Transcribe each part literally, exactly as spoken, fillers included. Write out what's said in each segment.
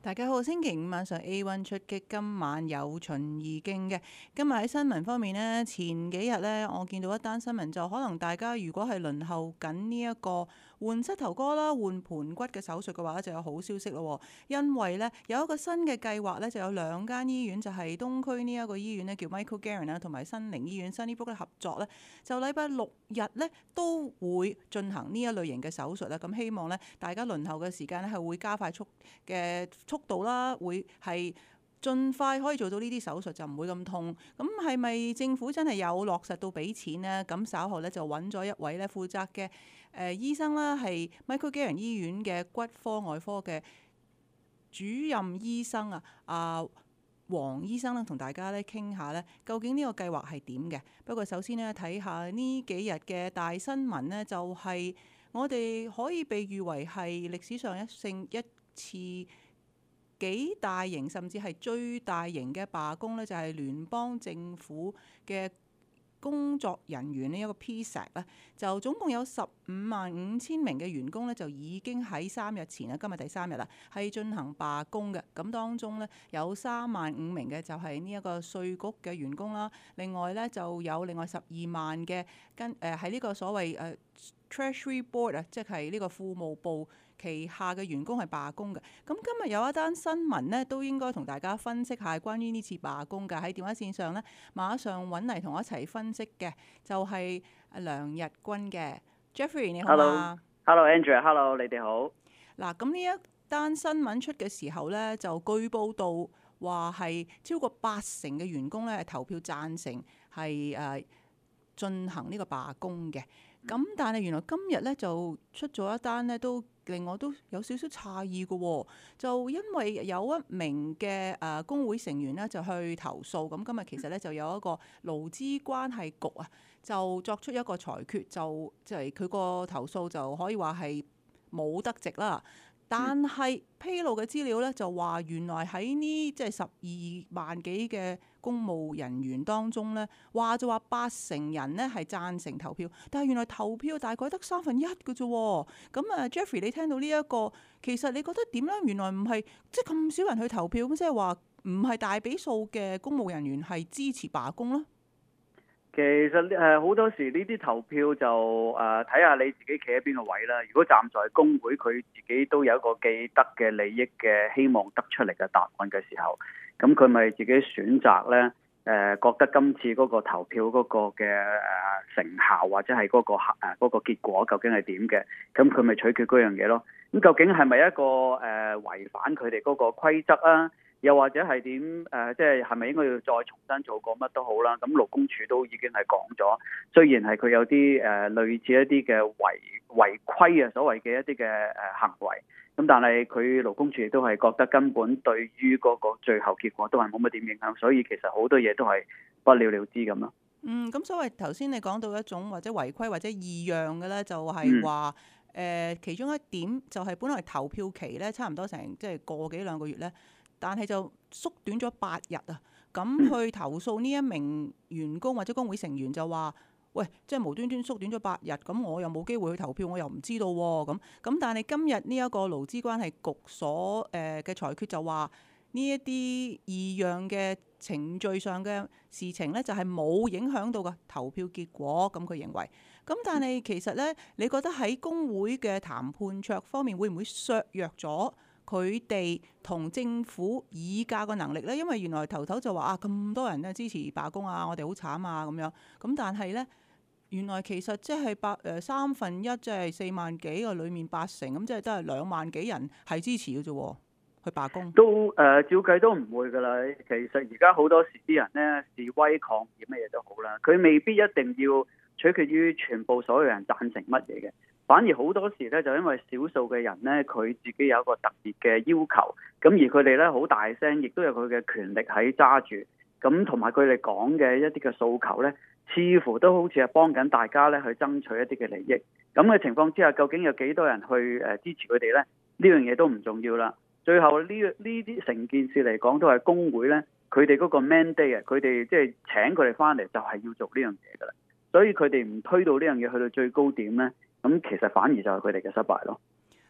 大家好，星期五晚上 A 一 出擊，今晚有巡而徑嘅。今日喺新聞方面呢，前幾日呢，我見到一單新聞，就可能大家如果係輪候緊呢一個換膝頭哥啦、換盤骨嘅手術嘅話，就有好消息咯。因為呢，有一個新嘅計劃呢，就有兩間醫院，就係、是、東區呢一個醫院呢，叫 Michael Garron 啦，同埋新寧醫院 Sunnybrook 合作呢，就禮拜六日呢，都會進行呢一類型嘅手術啦。咁希望呢，大家輪候嘅時間呢，係會加快速嘅速度啦，會係盡快可以做到呢啲手術，就唔會咁痛。咁係咪政府真係有落實到俾錢呢？咁稍後咧就揾咗一位咧負責嘅誒、呃、醫生啦，係 Michael Garron 醫院嘅骨科外科嘅主任醫生啊，阿黃醫生啦，同大家咧傾下咧，究竟呢個計劃係點嘅？不過首先呢，睇下呢幾日嘅大新聞呢，就係、是、我哋可以被譽為係歷史上一勝一次幾大型甚至係最大型嘅罷工呢，就係聯邦政府嘅工作人員呢一個 P S A C 咧，就總共有十五萬五千名嘅員工呢，就已經喺三日前啊，今日第三日啦，係進行罷工嘅。咁當中呢，有三萬五名嘅就係呢一個稅局嘅員工啦，另外呢，就有另外十二萬嘅跟誒喺呢個所謂誒、呃、Treasury Board 啊，即係呢個庫務部旗下嘅員工係罷工嘅。咁今日有一單新聞呢，都應該同大家分析下關於呢次罷工嘅。喺電話線上呢，馬上揾嚟同我一齊分析嘅，就係、是、梁日軍嘅 Jeffrey， 你好嗎？ Hello，Hello Andrew，Hello， 你哋好。 嗱，咁呢一單新聞出嘅時候呢，就據報道話係超過八成嘅員工呢係投票贊成係誒進行呢個罷工嘅。咁但係原來今日呢，就出咗一單呢，都令我都有少少詫異嘅喎。就因為有一名嘅誒工會成員呢，就去投訴，咁今日其實呢，就有一個勞資關係局啊，就作出一個裁決，就即係佢個投訴就可以話係冇得直啦。但係披露嘅資料咧，就話原來喺呢即係十二萬幾嘅公務人員當中咧，話就話八成人咧係贊成投票，但係原來投票大概得三分一嘅啫。咁啊 Jeffrey，你聽到呢、這、一個，其實你覺得點咧？原來唔係即係咁少人去投票，咁即係話唔係大比數嘅公務人員係支持罷工咯。 其實誒好多時呢啲投票就誒睇下你自己企喺邊個位啦。如果站在工會，佢自己都有一個既得嘅利益嘅希望得出嚟嘅答案嘅時候，咁佢咪自己選擇呢？誒、呃、覺得今次嗰個投票嗰個嘅誒成效或者係嗰、嗰個誒嗰、嗰個結果究竟係點嘅？咁佢咪取決嗰樣嘢咯。咁究竟係咪一個誒、呃、違反佢哋嗰個規則啊？又或者係點誒？即係係咪應該要再重新做過乜都好啦？咁勞工處都已經係講咗，雖然係佢有啲誒、呃、類似一啲嘅違違規啊，所謂嘅一啲嘅誒行為，咁但係佢勞工處亦都係覺得根本對於嗰個最後結果都係冇乜點影響，所以其實好多嘢都係不了了之咁咯。 嗯，咁所謂頭先你講到一種或者違規或者異樣嘅咧，就係話誒其中一點就係本來投票期咧差唔多成即係個幾兩個月咧。但係就縮短咗八日啊！咁去投訴呢一名員工或者工會成員就話：喂，即係無端端縮短咗八日，咁我又冇機會去投票，我又唔知道喎。咁咁，但係今日呢一個勞資關係局所誒嘅裁決就話呢一啲異樣嘅程序上嘅事情呢，就係冇影響到個投票結果。咁佢認為，咁但係其實呢，你覺得喺工會嘅談判桌方面會唔會削弱咗佢哋同政府議價個能力呢？因為原來頭頭就話啊，咁多人咧支持罷工啊，我哋好慘啊咁樣。咁但係呢，原來其實即係八誒三分一，即係四萬幾個裡面八成，咁即係都係兩萬幾人係支持嘅啫，去罷工。都誒、 呃，照計都唔會㗎啦。其實而家好多時啲人呢，示威抗議乜嘢都好啦，佢未必一定要取決於全部所有人贊成乜嘢嘅。反而好多時咧，就因為少數嘅人咧，佢自己有一個特別嘅要求，咁而佢哋咧好大聲，亦都有佢嘅權力喺揸住，咁同埋佢哋講嘅一啲嘅訴求咧，似乎都好似係幫緊大家咧去爭取一啲嘅利益。咁嘅情況之下，究竟有幾多人去誒支持佢哋咧？呢樣嘢都唔重要啦。最後呢呢啲成件事嚟講，都係工會咧，佢哋嗰個 mandate 啊，佢哋即係請佢哋翻嚟就係要做呢樣嘢噶啦。所以佢哋唔推到呢樣嘢去到最高點咧。咁其實反而就係佢哋嘅失敗咯。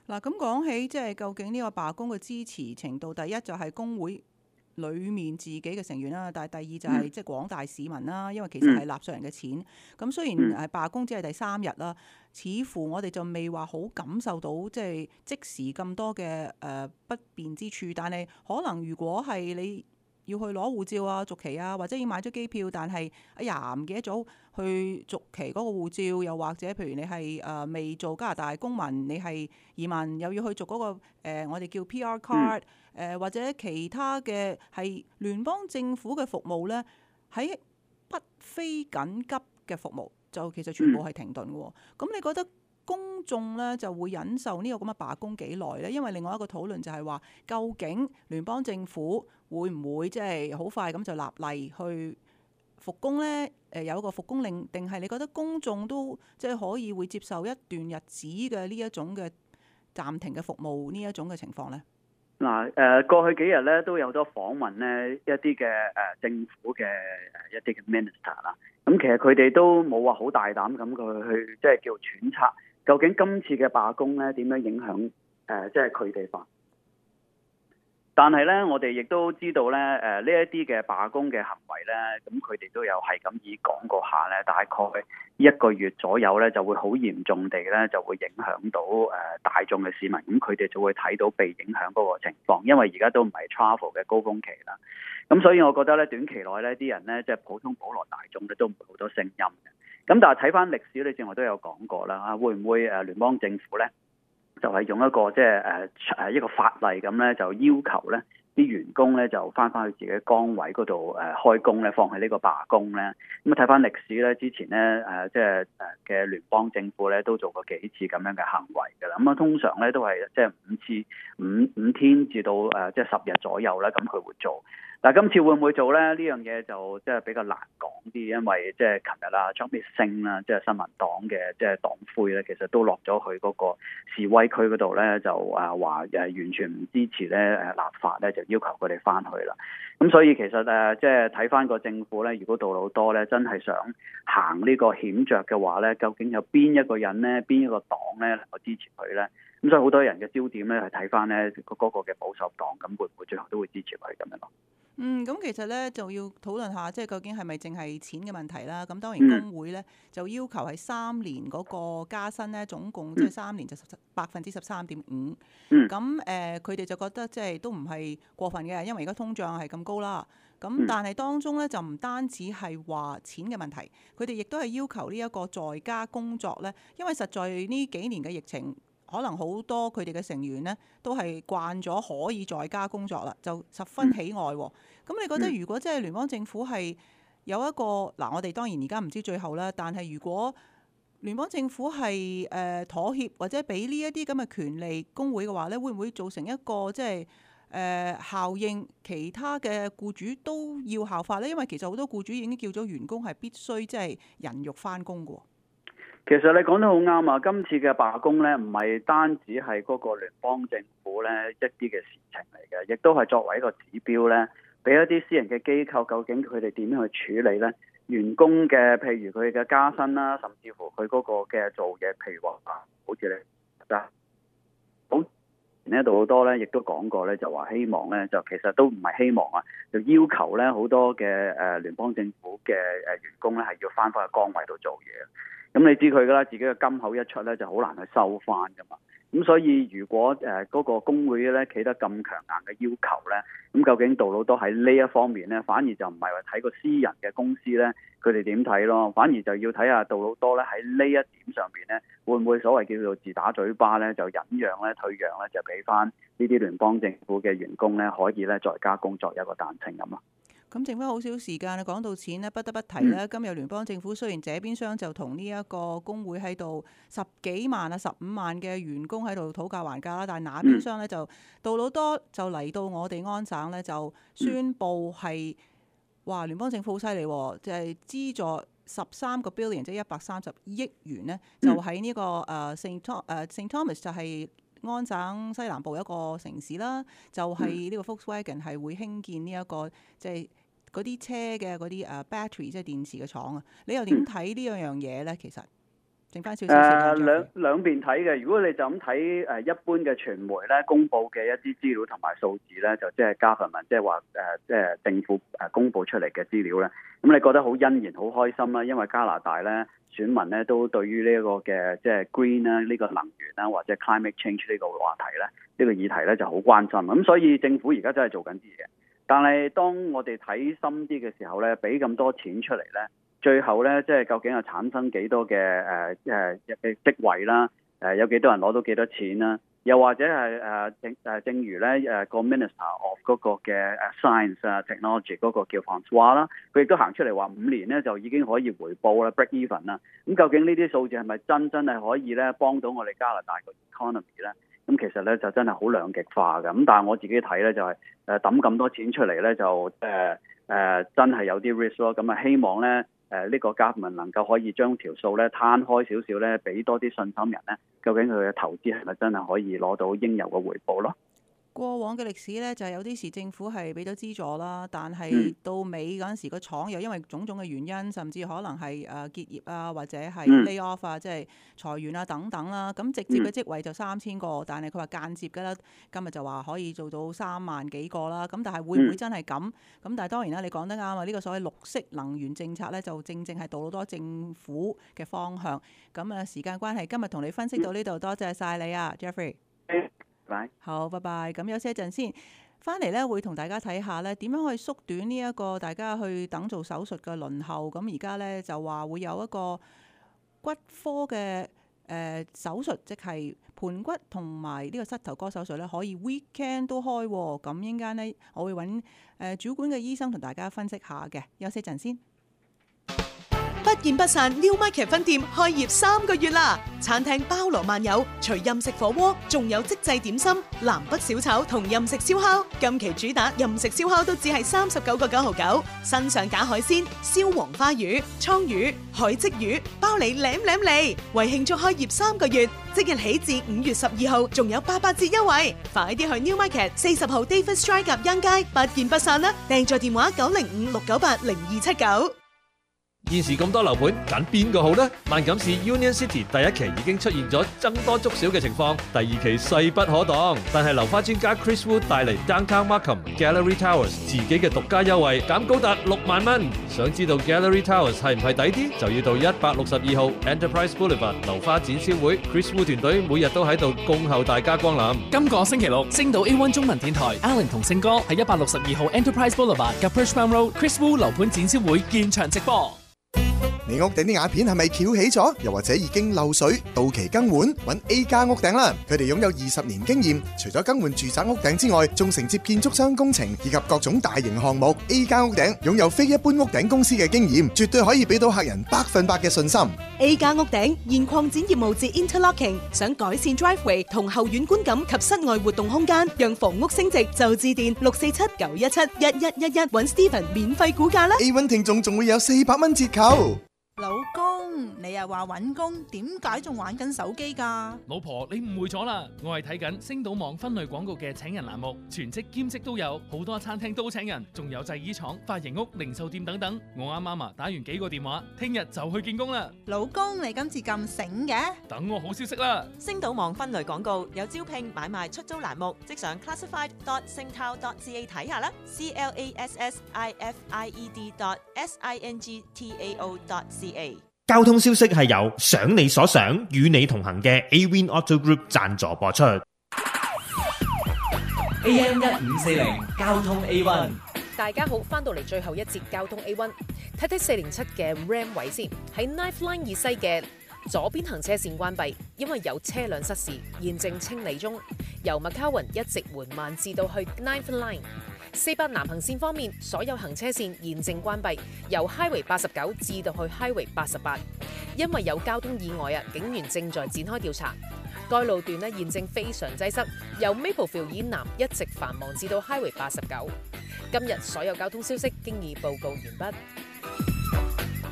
嗱，咁講起即係究竟呢個罷工嘅支持程度，第一就係工會裡面自己嘅成員啦，但係第二就係即係廣大市民啦，因為其實係納稅人嘅錢。咁雖然係罷工只係第三日啦，似乎我哋就未話好感受到即係即時咁多嘅誒不便之處，但係可能如果係你要去攞護照啊、續期啊，或者已經買咗機票，但係哎呀唔記得咗去續期嗰個護照，又或者譬如你係誒、呃、未做加拿大公民，你係移民又要去續嗰、那個、呃、我哋叫 P R card，誒、呃、或者其他嘅係聯邦政府嘅服務咧，喺不非緊急嘅服務就其實全部係停頓嘅。咁你覺得公眾咧就會忍受呢個咁嘅罷工幾耐咧？因為另外一個討論就係話，究竟聯邦政府會唔會即係好快咁就立例去復工咧？誒有一個復工令，定係你覺得公眾都即係可以會接受一段日子嘅呢一種嘅暫停嘅服務呢一種嘅情況咧？ 嗱誒，過去幾日咧都有多訪問咧一啲嘅誒政府嘅誒一啲嘅 minister 啦，咁其實佢哋都冇話好大膽咁佢去即係叫揣測。究竟今次嘅罷工咧點樣影響誒、呃、即係佢哋法？但係咧，我哋亦都知道咧，誒呢一啲嘅罷工嘅行為咧，咁佢哋都有係咁以講過下咧，大概一個月左右咧就會好嚴重地咧就會影響到誒、呃、大眾嘅市民，咁佢哋就會睇到被影響嗰個情況，因為而家都唔係 travel 嘅高峰期啦。咁所以我覺得咧，短期內咧啲人咧即係普通普羅大眾咧都唔會好多聲音嘅。咁但係睇翻歷史，你正話都有講過啦，啊會唔會誒聯邦政府咧就係、是、用一個即係誒誒一個法例咁咧，就要求咧啲員工咧就翻返去自己崗位嗰度誒開工咧，放棄呢個罷工咧。咁啊睇翻歷史咧，之前咧誒即係誒嘅聯邦政府咧都做過幾次咁樣嘅行為㗎啦。咁啊通常咧都係即係五次五五天至到誒即係十日左右咧，咁佢會做。但係今次會唔會做咧？呢樣嘢就即係比較難講啲，因為即係琴日啦，Chubby Singh啦，即係新民黨嘅即係黨魁咧，其實都落咗去嗰個示威區嗰度咧，就啊話誒完全唔支持咧誒立法咧，就要求佢哋翻去啦。咁所以其實誒即係睇翻個政府咧，如果杜魯多咧真係想行呢個險著嘅話咧，究竟有邊一個人咧，邊一個黨咧能夠支持佢咧？咁所以好多人嘅焦點咧係睇翻咧嗰個嘅保守黨，咁會唔會最後都會支持佢咁樣咯？ 嗯，咁其實咧就要討論下，即係究竟係咪淨係錢嘅問題啦？咁當然工會咧就要求係三年嗰個加薪咧，總共即係三年就百分之十三點五。咁誒，佢哋就覺得即係都唔係過分嘅，因為而家通脹係咁高啦。咁但係當中咧就唔單止係話錢嘅問題，佢哋亦都係要求呢一個在家工作咧，因為實在呢幾年嘅疫情。可能好多佢哋嘅成員呢，都係慣咗可以在家工作啦，就十分喜愛喎。咁你覺得如果即係聯邦政府係有一個嗱，我哋當然而家唔知最後啦，但係如果聯邦政府係誒妥協或者俾呢一啲咁嘅權利工會嘅話呢，會唔會造成一個即係誒效應？其他嘅僱主都要效法呢？因為其實好多僱主已經叫咗員工係必須即係人肉返工嘅。 其實你講得好啱啊！今次嘅罷工咧，唔係單止係嗰個聯邦政府咧一啲嘅事情嚟嘅，亦都係作為一個指標咧，俾一啲私人嘅機構究竟佢哋點樣去處理咧員工嘅，譬如佢嘅加薪啦，甚至乎佢嗰個嘅做嘢，譬如話好似你啊，好呢度好多咧，亦都講過咧，就話希望咧，就其實都唔係希望啊，就要求咧好多嘅誒聯邦政府嘅誒員工咧係要翻返去崗位度做嘢。咁你知佢噶啦，自己嘅金口一出咧，就好難去收翻噶嘛。咁所以如果誒嗰、呃那個工會咧企得咁強硬嘅要求咧，咁究竟杜魯多喺呢一方面咧，反而就唔係話睇個私人嘅公司咧，佢哋點睇咯？反而就要睇下杜魯多咧喺呢一點上邊咧，會唔會所謂叫做自打嘴巴咧，就忍讓咧、退讓咧，就俾翻呢啲聯邦政府嘅員工咧，可以咧在家工作有一個彈性咁咯。 咁剩翻好少時間，講到錢咧，不得不提咧。嗯、今日聯邦政府雖然這邊廂就同呢一個工會喺度十幾萬啊、十五萬嘅員工喺度討價還價啦，但係那邊廂咧就杜魯多就嚟到我哋安省咧，就宣布係話聯邦政府好犀利，就係、是、資助十三個 billion，即係一百三十億元呢，就喺呢、這個誒 Saint Tom 誒 Saint Thomas 就係安省西南部一個城市啦，就係、是、呢個 Volkswagen 係會興建呢、這、一個即係。嗰啲車嘅嗰啲誒 battery 即係電池嘅廠啊，你又點睇呢樣樣嘢咧？其實剩翻少少時間。 誒兩兩邊睇嘅，如果你就咁睇誒一般嘅傳媒咧，公佈嘅一啲資料同埋數字咧，就即係 government，即係話誒即係政府誒公佈出嚟嘅資料咧，咁你覺得好欣然、好開心啦，因為加拿大咧選民咧都對於呢一個嘅即係 green 啦、呢個能源啦或者 climate change 呢個話題咧，呢個議題咧就好關心，咁所以政府而家真係做緊啲嘢。但係當我哋睇深啲嘅時候咧，俾咁多錢出嚟咧，最後咧即係究竟係產生幾多嘅誒誒嘅職位啦？誒、呃、有幾多人攞到幾多錢啦？又或者係誒正誒正如咧誒個 Minister of 嗰個嘅誒 Science 啊 Technology 嗰個叫 François 啦，佢亦都行出嚟話五年咧就已經可以回報啦 break even 啦。咁究竟呢啲數字係咪真真係可以咧幫到我哋加拿大個 economy 咧？咁其實咧就真係好兩極化嘅，咁但係我自己睇咧就係誒抌咁多錢出嚟咧就誒誒、呃呃、真係有啲 risk 咯，咁啊希望咧誒呢、呃這個 government 能夠可以將條數咧攤開少少咧，俾多啲信心人咧，究竟佢嘅投資係咪真係可以攞到應有嘅回報咯？ 過往嘅歷史咧，就係有啲時政府係俾咗資助啦，但係到尾嗰陣時個廠又因為種種嘅原因，甚至可能係誒結業啊，或者係 lay off 啊，即係裁員啊等等啦。咁直接嘅職位就三千個，但係佢話間接嘅啦，今日就話可以做到三萬幾個啦。咁但係會唔會真係咁？咁但係當然啦，你講得啱啊！呢個所謂綠色能源政策咧，就正正係到好多政府嘅方向。咁啊，時間關係，今日同你分析到呢度，多謝晒你啊 ，Jeffrey。 Bye. 好，拜拜。咁休息一陣先，翻嚟咧會同大家睇下咧點樣可以縮短呢一個大家去等做手術嘅輪候。咁而家咧就話會有一個骨科嘅誒、呃、手術，即係盤骨同埋呢個膝頭哥手術咧，可以 weekend 都開。咁陣間咧，我會揾誒、呃、主管嘅醫生同大家分析下嘅。休息一陣先。 不見不散 Newmarket 分店開業三個月啦！餐廳包羅萬有，除任食火鍋，仲有即製點心、南北小炒同任食燒烤。近期主打任食燒烤都只係三十九個九毫九，新上架海鮮、燒黃花魚、倉魚、海鯽魚，包你舐舐嚟！為慶祝開業三個月，即日起至五月十二號，仲有八八折優惠，快啲去 Newmarket 四十號 David Strike 夾欣街，不見不散啦！訂座電話九零五六九八零二七九。 現時咁多樓盤，揀邊個好呢？萬錦市 Union City 第一期已經出現咗僧多粥少嘅情況，第二期勢不可擋。但係樓花專家 Chris Wu 帶嚟 Downtown Markham Gallery Towers 自己嘅獨家優惠，減高達六萬蚊。想知道 Gallery Towers 係唔係抵啲，就要到一百六十二號 Enterprise Boulevard 樓花展銷會。Chris Wu 團隊每日都喺度恭候大家光臨。 今個星期六，星島 A 一 中文電台 Alan 同勝哥喺一百六十二號 Enterprise Boulevard 嘅 Perchmount Road Chris Wu 樓盤展銷會現場直播。 你屋頂啲瓦片係咪翹起咗？又或者已經漏水、到期更換？揾 A 加屋頂啦！佢哋擁有二十年經驗，除咗更換住宅屋頂之外，仲承接建築商工程以及各種大型項目。A 加屋頂擁有非一般屋頂公司嘅經驗，絕對可以俾到客人百分百嘅信心。 A 加屋頂現擴展業務至 Interlocking， 想改善 driveway 同後院觀感及室外活動空間，讓房屋升值就致電六四七九一七一一一一揾 Steven 免費估價啦。 A 一 聽眾仲會有四百蚊折扣。 老公，你又話揾工，點解仲玩緊手機㗎？ 老婆，你誤會咗啦，我係睇緊星島網分類廣告嘅請人欄目，全職兼職都有，好多餐廳都請人，仲有製衣廠、髮型屋、零售店等等。我啱啱啊打完幾個電話，聽日就去見工啦。 老公，你今次咁醒嘅？ 等我好消息啦！ 星島網分類廣告有招聘、買賣、出租欄目，即上 classified dot singtao dot c a 睇下啦。C L A S S I F I E D dot S I N G T A O dot C A。 交通消息係由想你所想與你同行嘅 A-Win Auto Group 贊助播出。 A M 一五四零交通 A 一， 大家好，翻到嚟最後一節交通 A 一，睇睇四零七嘅 Ram 位先，喺 Ninth Line 以西嘅左邊行車線關閉，因為有車輛失事，現正清理中。由 McCowan 一直緩慢至到去 Ninth Line。四八南行線方面，所有行車線現正關閉，由 Highway 八十九至到去 Highway 八十八，因為有交通意外啊，警員正在展開調查。該路段呢現正非常擠塞，由 Maplefield 以南一直繁忙至到 Highway 八十九。今日所有交通消息經已報告完畢。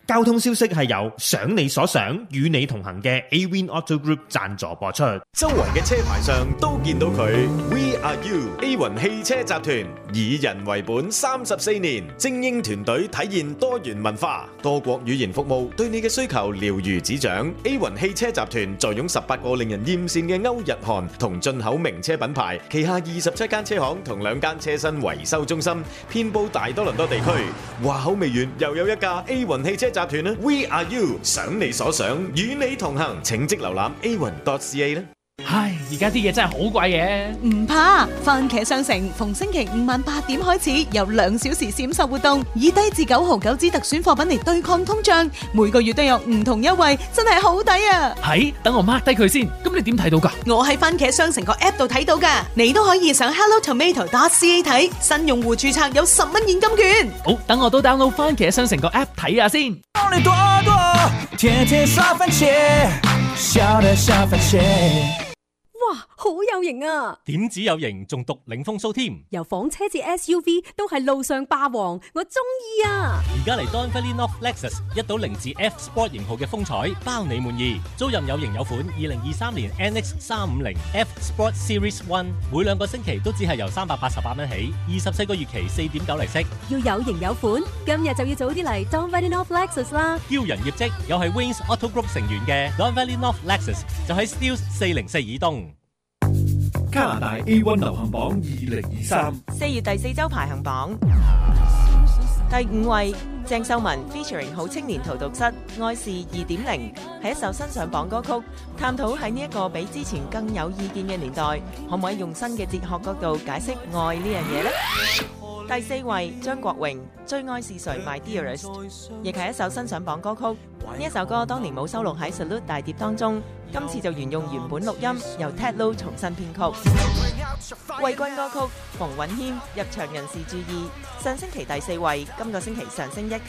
交通消息係由想你所想，與你同行嘅 Awin Auto Group 贊助播出。 周圍嘅車牌上都見到佢 ，We Are You A 雲汽車集團以人為本三十四年，精英團隊體現多元文化，多國語言服務，對你嘅需求了如指掌。A 雲汽車集團坐擁十八個令人艷羨嘅歐日韓同進口名車品牌，旗下二十七間車行同兩間車身維修中心，遍佈大多倫多地區。話口未完，又有一架 A 雲汽車集團啦 ，We Are You， 想你所想，與你同行，請即瀏覽 a one dot c a 啦。 唉，而家啲嘢真係好貴嘅。 唔怕，番茄商城逢星期五晚八點開始有兩小時閃售活動，以低至九毫九支特選貨品嚟對抗通脹，每個月都有唔同優惠，真係好抵啊！ 係，等我 mark 低佢先。咁你點睇到㗎？ 我喺番茄商城個 app 度睇到㗎，你都可以上 hello tomato dot c a 睇，新用戶註冊有十蚊現金券。 好，等我都 download 番茄商城個 app 睇下先。 多利多多，天天刷番茄，笑的小番茄。 哇，好有型啊！ 點止有型，仲獨領風騷添。 由房車至 S U V 都係路上霸王，我中意啊！ 而家嚟 Don Valley North Lexus 一到零至 F Sport 型號嘅風采，包你滿意。租任有型有款，二零二三年 N X 三五零 F Sport Series One， 每兩個星期都只係由三百八十八蚊起，二十四個月期四點九利息。 要有型有款，今日就要早啲嚟 Don Valley North Lexus 啦！ 驕人業績又係 Wings Auto Group 成員嘅 Don Valley North Lexus 就喺 Steeles 四零四以東。 加拿大 A 一 流行榜二零二三四月第四周排行榜第五位，鄭秀文 featuring 好青年荼毒室《愛是二點零》係一首新上榜歌曲，探討喺呢一個比之前更有意見嘅年代，可唔可以用新嘅哲學角度解釋愛呢樣嘢呢？第四位，張國榮《最愛是誰 My Dearest》亦係一首新上榜歌曲。呢一首歌當年冇收錄喺 Salute 大碟當中，今次就沿用原本錄音，由 Ted Lo 重新編曲。季軍歌曲馮允謙入場人士注意，上星期第四位，今個星期上升一級。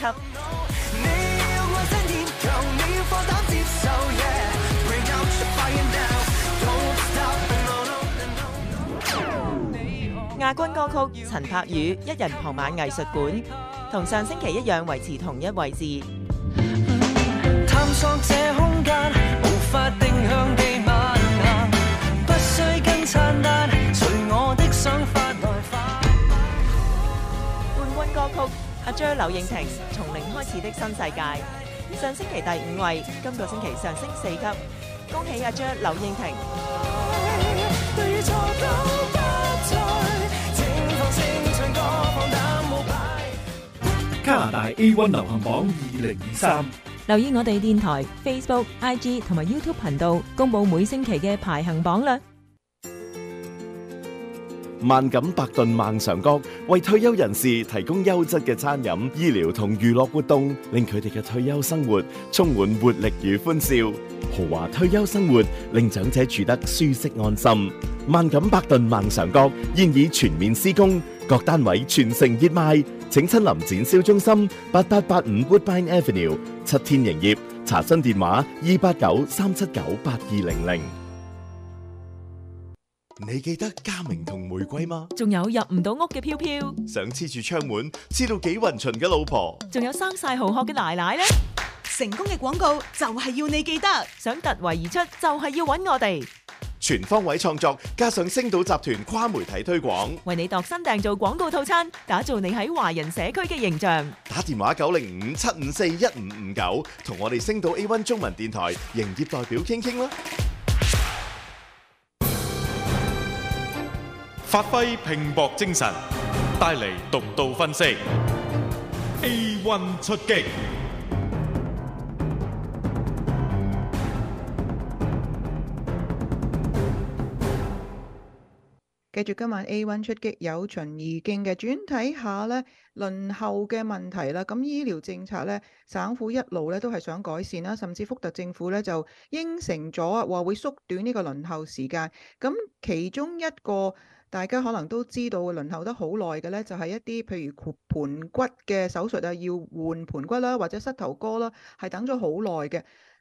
亞軍歌曲陳柏宇一人傍晚藝術館，同上星期一樣維持同一位置。 探索這空間，無法定向地漫行，不需跟餐單，隨我的想法來發。 冠軍歌曲阿 Jer 柳應廷從零開始的新世界，上星期第五位，今個星期上升四級，恭喜阿 Jer 柳應廷。 加拿大 A 一 流行榜二零二三， 留意我哋電台、Facebook、I G 同埋 YouTube 頻道，公佈每星期嘅排行榜啦。 萬錦百頓萬常閣為退休人士提供優質嘅餐飲、醫療同娛樂活動，令佢哋嘅退休生活充滿活力與歡笑。豪華退休生活令長者住得舒適安心。萬錦百頓萬常閣現已全面施工，各單位全城熱賣，請親臨展銷中心八八八五 Woodbine Avenue 七天營業，查詢電話二八九三七九八二零零。 你記得嘉明同玫瑰嗎？ 仲有入唔到屋嘅飄飄， 想黐住窗門黐到幾勻巡嘅老婆， 仲有生晒蠔殼嘅奶奶呢？ 成功嘅廣告就係要你記得， 想突圍而出就係要揾我哋。 全方位創作加上星島集團跨媒體推廣， 為你度身訂造廣告套餐，打造你喺華人社區嘅形象。 打電話九零五七五四一五五九，同我哋星島 A 一 中文電台營業代表傾傾啦。 發揮拼搏精神，帶嚟獨到分析。A 一 出擊。 繼續今晚 A 一 出擊，有循而徑嘅轉睇下呢輪候嘅問題啦。咁醫療政策呢，省府一路呢都係想改善啦，甚至福特政府呢就應承咗話會縮短呢個輪候時間。咁其中一個大家可能都知道輪候得好耐嘅呢，就係一啲譬如盤骨嘅手術啊，要換盤骨啦，或者膝頭哥啦，係等咗好耐嘅。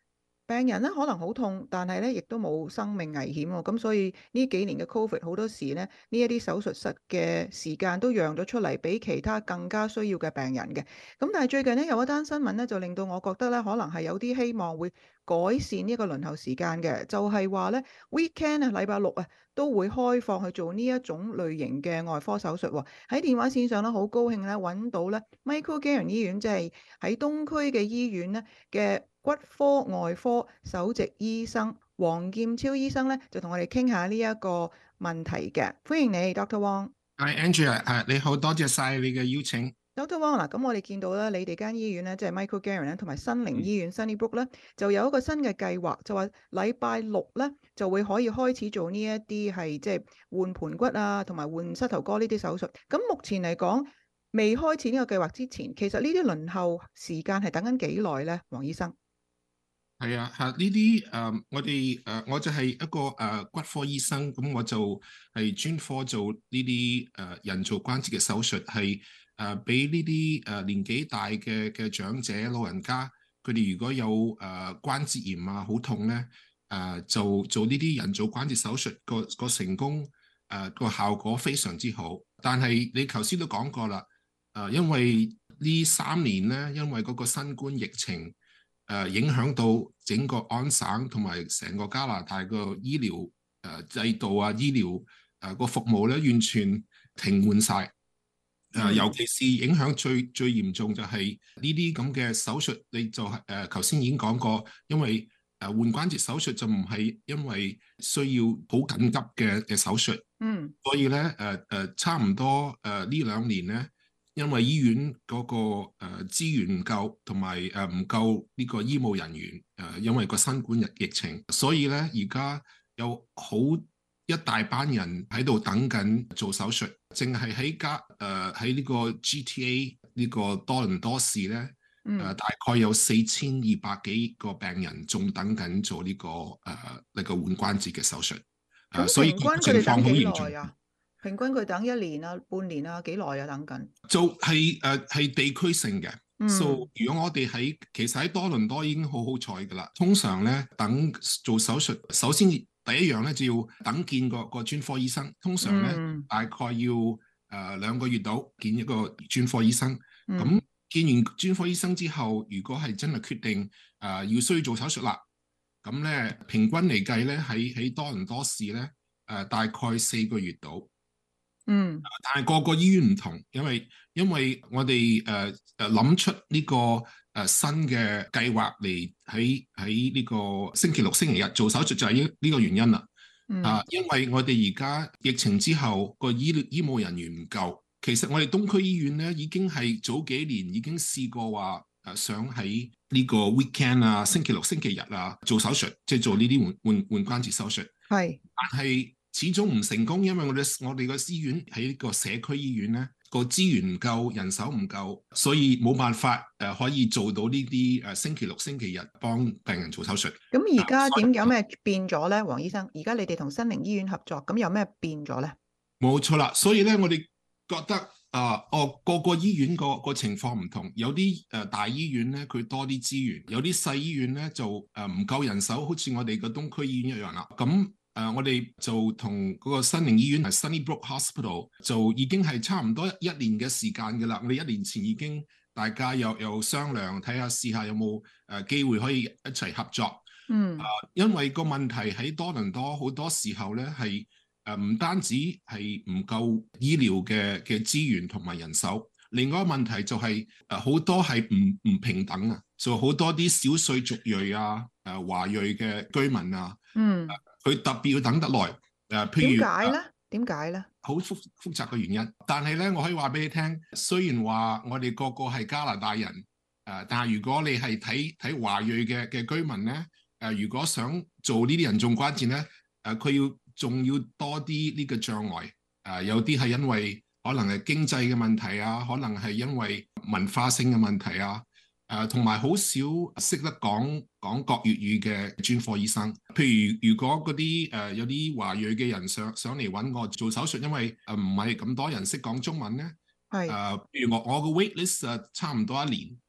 病人咧可能好痛，但係咧亦都冇生命危險喎。咁所以呢幾年嘅 Covid 好多時咧，呢一啲手術室嘅時間都讓咗出嚟，俾其他更加需要嘅病人嘅。咁但係最近呢，有一單新聞咧，就令到我覺得咧，可能係有啲希望會改善呢一個輪候時間嘅，就係話咧 weekend 啊，禮拜六啊都會開放去做呢一種類型嘅外科手術喎。喺電話線上咧，好高興咧揾到咧 Michael Garron 醫院，即係喺東區嘅醫院咧嘅骨科外科首席醫生黃劍超醫生咧，就同我哋傾下呢一個問題嘅。歡迎你 Doctor Wong。 係 Andrea，誒你好，多謝晒你嘅邀請。 Doctor Wong 嗱，咁我哋見到咧，你哋間醫院咧，即係 Michael Garron 咧，同埋新寧醫院 Sunnybrook 咧，就有一個新嘅計劃，就話禮拜六咧就會可以開始做呢一啲係即係換盤骨啊，同埋換膝頭哥呢啲手術。咁目前嚟講，未開始呢個計劃之前，其實呢啲輪候時間係等緊幾耐咧，黃醫生？ 係啊，嚇呢啲誒，我哋誒、呃、我就係一個誒、呃、骨科醫生，咁我就係專科做呢啲誒人造關節嘅手術，係誒俾呢啲誒年紀大嘅嘅長者老人家，佢哋如果有誒、呃、關節炎啊，好痛咧，誒、呃、就做呢啲人造關節手術，個個成功誒個、呃、效果非常之好。但係你頭先都講過啦，誒、呃、因為呢三年咧，因為嗰個新冠疫情。誒、呃、影響到整個安省同埋成個加拿大個醫療誒、呃、制度啊，醫療誒個、呃、服務咧完全停換晒。誒、呃、尤其是影響最最嚴重就係呢啲咁嘅手術，你就係誒頭先已經講過，因為誒、呃、換關節手術就唔係因為需要好緊急嘅嘅手術， 嗯， 所以咧誒誒差唔多誒、呃、呢兩年咧。因為醫院嗰個誒資源唔夠，同埋誒唔夠呢個醫務人員誒，因為個新冠疫疫情，所以咧而家有好一大班人喺度等緊做手術，淨係喺加誒喺呢個 G T A 呢個多倫多市咧，誒、 嗯呃、大概有四千二百幾個病人仲等緊做呢、這個誒呢、呃這個換關節嘅手術，誒、呃、所以個情況好嚴重。 平均佢等一年啊、半年啊、幾耐啊等緊？ 就係誒係地區性嘅， 嗯 so 如果我哋喺其實喺多倫多已經好好彩噶啦。通常咧等做手術，首先第一樣咧就要等見個個專科醫生。通常咧、嗯、大概要誒、呃、兩個月度見一個專科醫生。咁、嗯、見完專科醫生之後，如果係真係決定誒、呃、要需要做手術啦，咁咧平均嚟計咧喺喺多倫多市咧誒、呃、大概四個月度。 嗯， 但係個個醫院唔同，因為因為我哋誒誒諗出呢、這個誒、呃、新嘅計劃嚟喺喺呢個星期六、星期日做手術就係呢呢個原因啦。 嗯、 啊，因為我哋而家疫情之後個醫醫務人員唔夠，其實我哋東區醫院咧已經係早幾年已經試過話誒想喺呢個 weekend 啊、星期六、星期日啊做手術，即係做呢啲換換換關節手術。 係， 但係始終唔成功，因為我哋我哋個醫院喺個社區醫院咧，個資源唔夠，人手唔夠，所以冇辦法誒、呃、可以做到呢啲誒星期六、星期日幫病人做手術。 咁而家點有咩變咗咧，黃醫生？而家你哋同新寧醫院合作，咁有咩變咗咧？ 冇錯啦，所以咧我哋覺得啊、呃，哦個個醫院個個情況唔同，有啲誒、呃、大醫院咧佢多啲資源，有啲細醫院咧就誒唔、呃、夠人手，好似我哋個東區醫院一樣啦。咁誒、uh, 我哋就同嗰個新寧醫院係 Sunnybrook Hospital 就已經係差唔多一年嘅時間㗎啦。我哋一年前已經大家有有商量睇下試下有冇誒機會可以一齊合作。 嗯， 誒、uh, 因為個問題喺多倫多好多時候咧係誒唔單止係唔夠醫療嘅嘅資源同埋人手，另外一個問題就係誒好多係唔唔平等啊，就好多啲少數族裔啊、誒、呃、華裔嘅居民啊。 嗯。 佢特別要等得耐，誒、呃，譬如點解咧？點解咧？ 好複複雜嘅原因，但係咧，我可以話俾你聽，雖然話我哋個個係加拿大人，誒、呃，但係如果你係睇睇華裔嘅嘅居民咧，誒、呃，如果想做呢啲人造關節咧，誒、呃，佢要仲要多啲呢個障礙，誒、呃，有啲係因為可能係經濟嘅問題啊，可能係因為文化性嘅問題啊。誒同埋好少識得講講國粵語嘅專科醫生，譬如如果嗰啲誒有啲華裔嘅人上上嚟揾我做手術，因為誒唔係咁多人識講中文咧， 係誒， 譬如我我個 wait list 誒差唔多一年，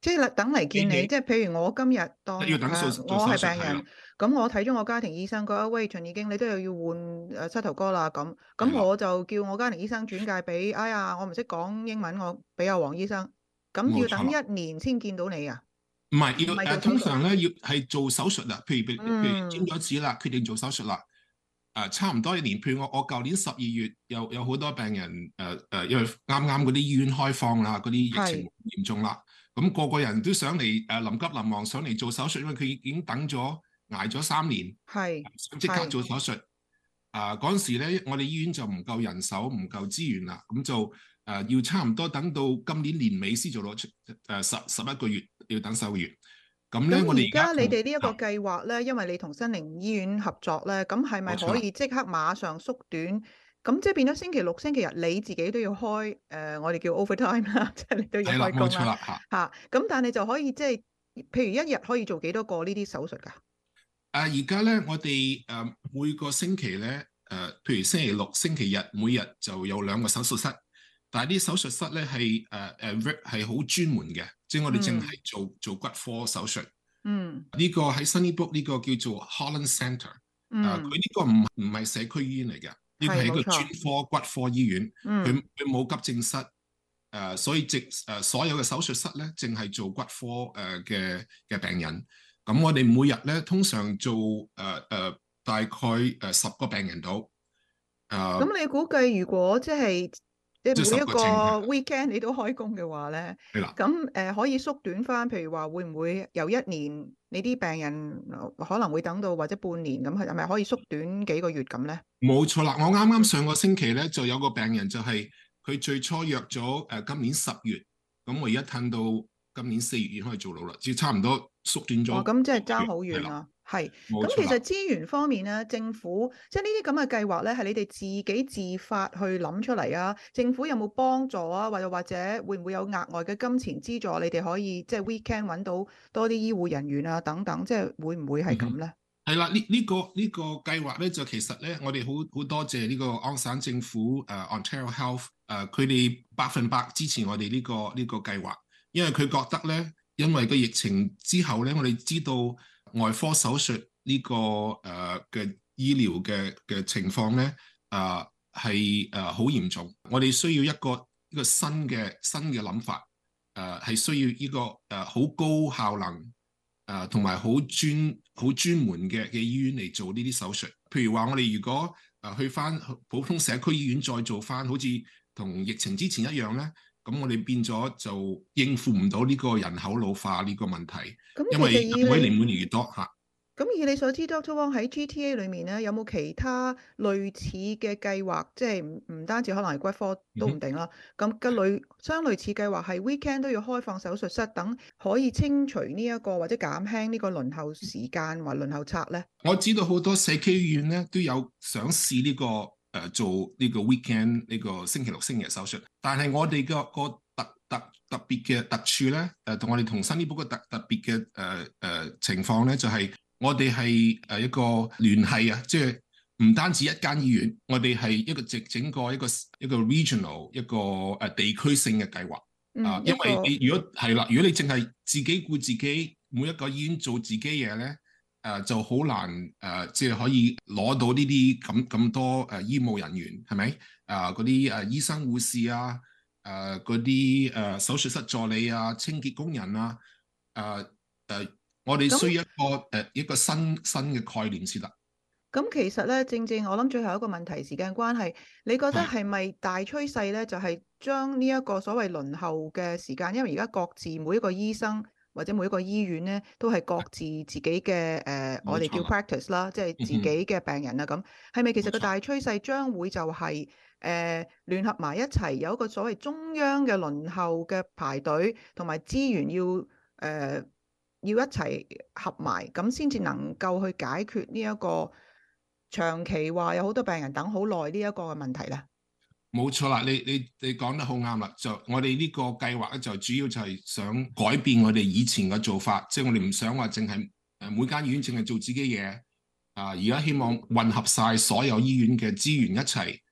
即係等嚟見你， 你即係譬如我今日當要等手誒我做手術係病人係啦， 咁我睇咗我家庭醫生，佢話喂秦已經你都有要換誒膝頭哥啦，咁咁係啦我就叫我家庭醫生轉介俾，哎呀我唔識講英文，我俾阿黃醫生，咁要等冇錯啦一年先見到你啊？ 唔係要誒， 唔係做手術通常咧要係做手術啦。譬如譬如譬如嗯簽咗紙啦，決定做手術啦。誒、差唔多一年。譬如我我舊年十二月有有好多病人誒誒、呃，因為啱啱嗰啲醫院開放啦，嗰啲疫情嚴重啦，咁、個個人都想嚟誒、呃、臨急臨忙上嚟做手術，因為佢已經等咗捱咗三年， 係想即刻做手術。啊嗰陣時咧，我哋醫院就唔夠人手，唔夠資源啦，咁就誒、呃、要差唔多等到今年年尾先做到出誒十十一個月，要等十個月。咁咧，我哋咁而家你哋呢一個啊計劃咧，因為你同新寧醫院合作咧，咁係咪可以即刻馬上縮短？咁即係變咗星期六、星期日你自己都要開誒、呃，我哋叫 overtime 啦，即係你都要係啦， 開工冇錯啦啦嚇。 嚇。咁但係就可以即係，譬如一日可以做幾多個呢啲手術㗎？ 啊！而家咧，我哋誒、呃、每個星期咧，誒、呃、譬如星期六、星期日，每日就有兩個手術室。但係啲手術室咧係誒誒係好專門嘅，即係我哋淨係做做骨科手術。 嗯。 呢個喺 Sunnybrook 呢個叫做 Holland Centre。 嗯。 啊，佢呢個唔唔係社區醫院嚟嘅，呢個係一個係冇錯專科骨科醫院。 嗯佢佢冇急症室。誒、呃，所以直誒、呃、所有嘅手術室咧，淨係做骨科誒嘅嘅病人。咁我哋每日咧通常做誒誒、呃呃、大概誒十個病人到。誒、呃， 咁你估計如果即係你即係十每一個個症係 weekend 你都開工嘅話咧， 係啦。 咁誒、呃、可以縮短翻，譬如話會唔會由一年你啲病人呃可能會等到或者半年咁，係咪可以縮短幾個月咁咧？ 冇錯啦，我啱啱上個星期咧就有個病人就係佢最初約咗誒今年十月，咁我而家褪到今年四月已經可以做到啦，即係差唔多縮短咗。 哦，咁即係爭好遠係啦。係， 冇錯啦咁其實資源方面咧，政府即係呢啲咁嘅計劃咧，係你哋自己自發去諗出嚟啊？政府有冇幫助啊？或者或者會唔會有額外嘅金錢資助？你哋可以即係 weekend 揾到多啲醫護人員啊等等，即係會唔會係咁咧？ 係啦，呢呢個呢個計劃咧就其實咧，我哋好好多謝呢個安省政府誒、uh, Ontario Health 誒，佢哋百分百支持我哋呢個呢個計劃，因為佢覺得咧，因為個疫情之後咧，我哋知道外科手術呢個誒嘅醫療嘅嘅情況咧，誒係誒好嚴重，我哋需要一個一個新嘅新嘅諗法，誒係需要呢個誒好高效能。誒同埋好專好專門嘅嘅醫院嚟做呢啲手術，譬如話我哋如果誒去翻普通社區醫院再做翻，好似同疫情之前一樣咧，咁我哋變咗就應付唔到呢個人口老化呢個問題，因為人口年滿越多嚇。 咁以你所知 ，Doctor Wong 喺 G T A 裏面咧，有冇其他類似嘅計劃？即係唔唔單止可能係骨科都唔定啦。咁嘅類相類似計劃係 weekend 都要開放手術室等，可以清除呢、這、一個或者減輕呢個輪候時間或輪候冊咧。 我知道好多社區醫院咧都有想試呢、這個誒、呃、做呢個 weekend 呢個星期六星期日手術，但係我哋個個特特特別嘅特處咧，誒、呃、同我哋同 Sunnybrook 個特特別嘅誒誒情況咧，就係、是。我哋係誒一個聯繫啊，即係唔單止一間醫院，我哋係一個整整個一個一個 regional 一個誒地區性嘅計劃啊。因為你如果係啦，如果你淨係自己顧自己，每一個醫院做自己嘢咧，誒就好難誒，即係可以攞到呢啲咁咁多誒醫務人員係咪啊？嗰啲誒醫生護士啊，誒嗰啲誒手術室助理啊，清潔工人啊，誒誒。我哋需要一個誒那一個新新嘅概念先得。 咁其實咧，正正我諗最後一個問題，時間關係，你覺得係咪大趨勢咧，就係將呢一個所謂輪候嘅時間，因為而家各自每一個醫生或者每一個醫院咧，都係各自自己嘅誒、呃，我哋叫 practice 啦，即係自己嘅病人啦。咁係咪其實個大趨勢將會就係、是、誒、呃、聯合埋一齊，有一個所謂中央嘅輪候嘅排隊同埋資源要誒？呃要一齊合埋，咁先至能夠去解決呢一個長期話有好多病人等好耐呢一個嘅問題咧。 冇錯啦，你你你講得好啱啦。就我哋呢個計劃咧，就主要就係想改變我哋以前嘅做法，即係我哋唔想話淨係誒每間醫院淨係做自己嘢啊。而家希望混合晒所有醫院嘅資源一齊，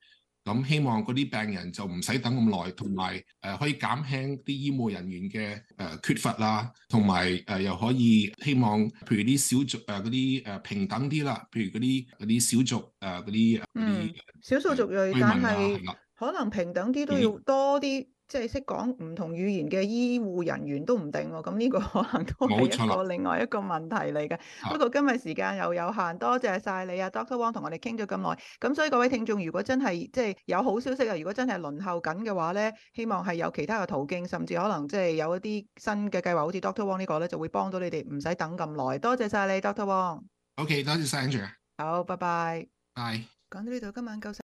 咁希望嗰啲病人就唔使等咁耐，同埋誒可以減輕啲醫護人員嘅誒缺乏啦，同埋誒又可以希望譬如啲小族誒嗰啲誒平等啲啦，譬如嗰啲嗰啲小族誒嗰啲嗯少數族裔，但係可能平等啲都要多啲。即係識講唔同語言嘅醫護人員都唔定喎，咁呢個可能都係一個另外一個問題嚟嘅。不過今日時間又有限，多謝晒你啊 ，Doctor Wong 同我哋傾咗咁耐。咁所以各位聽眾，如果真係即係有好消息啊，如果真係輪候緊嘅話咧，希望係有其他嘅途徑，甚至可能即係有一啲新嘅計劃，好似 Doctor Wong 呢個咧，就會幫到你哋唔使等咁耐。多謝晒你 ，Doctor Wong。 OK， 多謝晒 Andrew。 好，拜拜。 拜。 講到呢度，今晚夠。